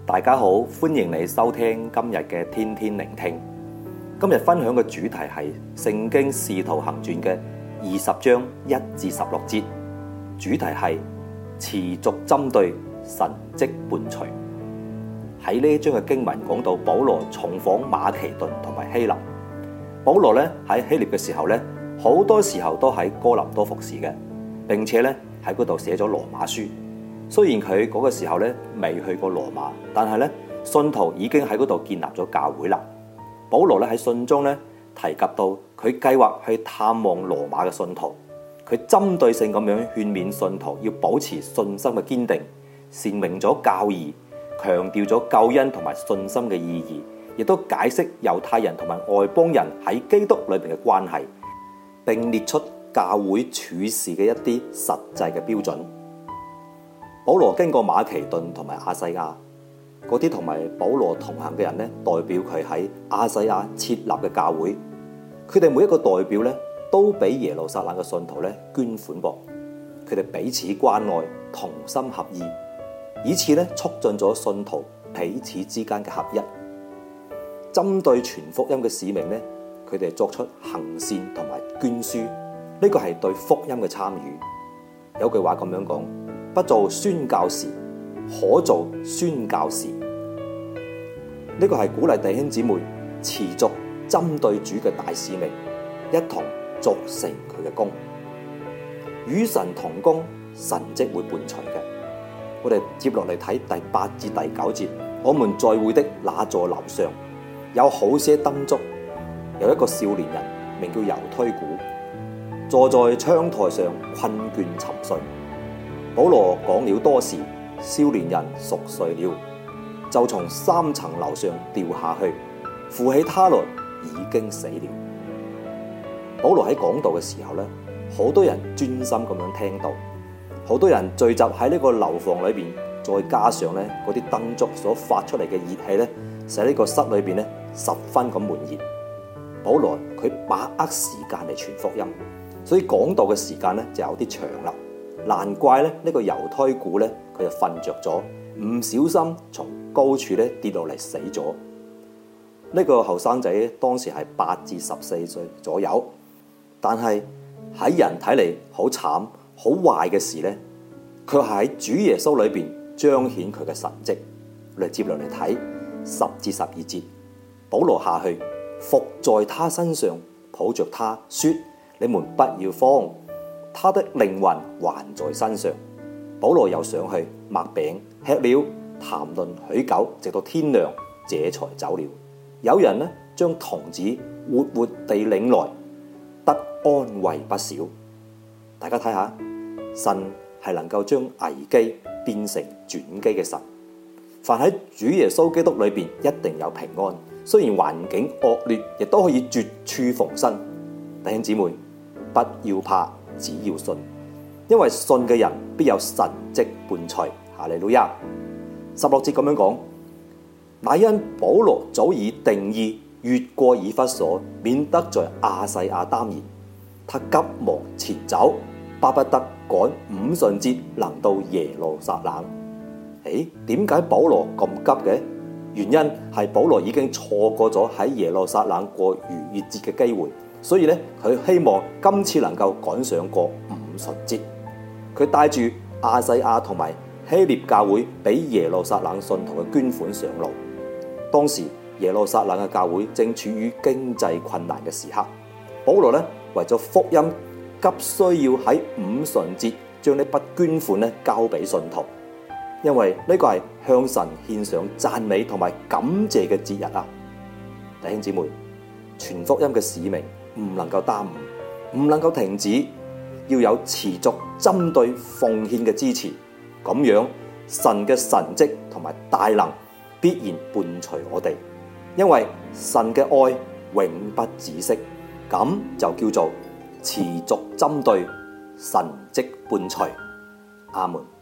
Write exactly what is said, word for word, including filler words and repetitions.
大家好，歡迎你收聽今日嘅天天聆聽。今日分享嘅主題係《聖經使徒行傳》嘅二十章一至十六節，主題係持續針對神蹟伴隨。喺呢一章嘅經文講到保羅重訪馬其頓同埋希臘。保羅咧喺希臘嘅時候咧，好多時候都喺哥林多服侍嘅，並且咧喺嗰度寫咗羅馬書。雖然佢嗰個時候咧未去過羅馬，但係咧信徒已經喺嗰度建立咗教會啦。保羅咧喺信中咧提及到佢計劃去探望羅馬嘅信徒，佢針對性咁樣勸勉信徒要保持信心嘅堅定，闡明咗教義，強調咗救恩同埋信心嘅意義，亦都解釋猶太人同埋外邦人喺基督裏邊嘅關係，並列出教會處事嘅一啲實際嘅標準。保羅經過馬其頓同埋亞細亞，嗰啲同埋保羅同行嘅人咧，代表佢喺亞細亞設立嘅教會，佢哋每一個代表咧，都俾耶路撒冷嘅信徒咧捐款噃，佢哋彼此關愛，同心合意，以此咧促進咗信徒彼此之間嘅合一。針對傳福音嘅使命咧，佢哋作出行善同埋捐書，呢個係對福音嘅參與。有句話咁樣講，不做宣教士，可做宣教士。呢個係鼓勵弟兄姊妹持續針對主嘅大使命，一同做成佢嘅功。與神同工，神蹟會伴隨嘅。我哋接落嚟睇第八至第九節，我們在會的那座樓上有好些燈燭，有一個少年人名叫猶推古，坐在窗台上困倦沉睡。保羅講了多時，少年人熟睡了，就從三層樓上掉下去，扶起他來，已經死了。保羅喺講道嘅時候咧，好多人專心咁樣聽到，好多人聚集喺呢個樓房裏邊，再加上咧嗰啲燈燭所發出嚟嘅熱氣咧，使呢個室裏邊咧十分咁悶熱。保羅佢把握時間嚟傳福音，所以講道嘅時間咧就有啲長啦。難怪咧呢個猶推古咧佢就瞓着咗，唔小心從高處咧跌落嚟死咗。呢個後生仔當時係八至十四歲左右，但係喺人睇嚟好慘好壞嘅事咧，佢係喺主耶穌裏邊彰顯佢嘅神蹟。我哋接落嚟睇十至十二節，保羅下去伏在他身上，抱着他說：你們不要慌。他的靈魂還在身上。保羅又上去擘餅吃了，談論許久，直到天亮，這才走了。有人呢將童子活活地領來，得安慰不少。大家睇下，神係能夠將危機變成轉機嘅神。凡喺主耶穌基督裏邊一定有平安，雖然環境惡劣，亦都可以絕處逢生。弟兄姊妹，不要怕，只要信，因為信嘅人必有神蹟伴隨。哈利路亞。十六節咁樣講，乃因保羅早已定意越過以弗所，免得在亞細亞耽延。他急忙前走，巴不得趕五旬節能到耶路撒冷。誒，點解保羅咁急嘅？原因係保羅已經錯過咗喺耶路撒冷過逾越節嘅機會。所以咧，佢希望今次能夠趕上過五旬節。佢帶住亞細亞同埋希臘教會俾耶路撒冷信徒嘅捐款上路。當時耶路撒冷嘅教會正處於經濟困難嘅時刻，保羅咧為咗福音，急需要喺五旬節將呢筆捐款咧交俾信徒，因為呢個係向神獻上讚美同埋感謝嘅節日啊！弟兄姊妹，傳福音嘅使命唔能夠耽誤，唔能夠停止，要有持續針對奉獻嘅支持，咁樣神嘅神蹟同埋大能必然伴隨我哋，因為神嘅愛永不止息，咁就叫做持續針對神蹟伴隨。阿門。